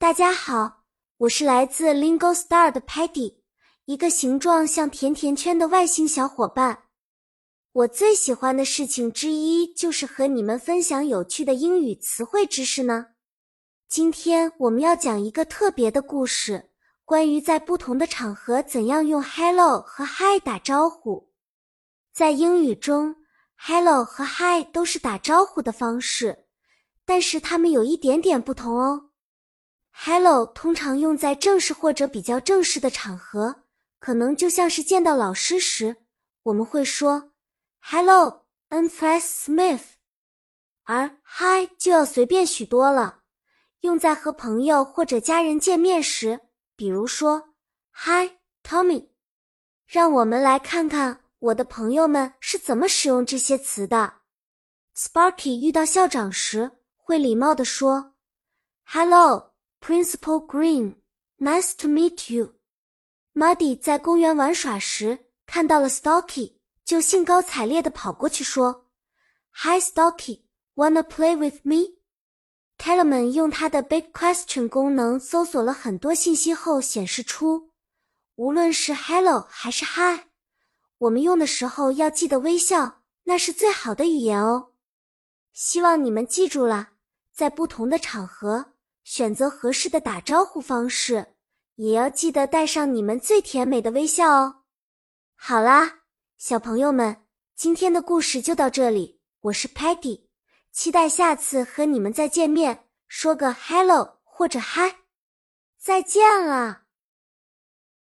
大家好，我是来自 Lingo Star 的 Patty， 一个形状像甜甜圈的外星小伙伴。我最喜欢的事情之一就是和你们分享有趣的英语词汇知识呢。今天我们要讲一个特别的故事，关于在不同的场合怎样用 Hello 和 Hi 打招呼。在英语中 Hello 和 Hi 都是打招呼的方式，但是它们有一点点不同哦。Hello 通常用在正式或者比较正式的场合，可能就像是见到老师时，我们会说 Hello, I'm Miss Smith。 而 Hi 就要随便许多了，用在和朋友或者家人见面时，比如说 Hi, Tommy。 让我们来看看我的朋友们是怎么使用这些词的。 Sparky 遇到校长时，会礼貌地说 Hello Principal Green, nice to meet you. Muddy 在公园玩耍时，看到了 Stocky， 就兴高采烈地跑过去说 Hi Stocky, wanna play with me? Telemann 用他的 Big Question 功能搜索了很多信息后显示出，无论是 Hello 还是 Hi， 我们用的时候要记得微笑，那是最好的语言哦。希望你们记住了，在不同的场合选择合适的打招呼方式，也要记得带上你们最甜美的微笑哦。好啦，小朋友们，今天的故事就到这里，我是 Patty， 期待下次和你们再见面，说个 Hello 或者 Hi。 再见了。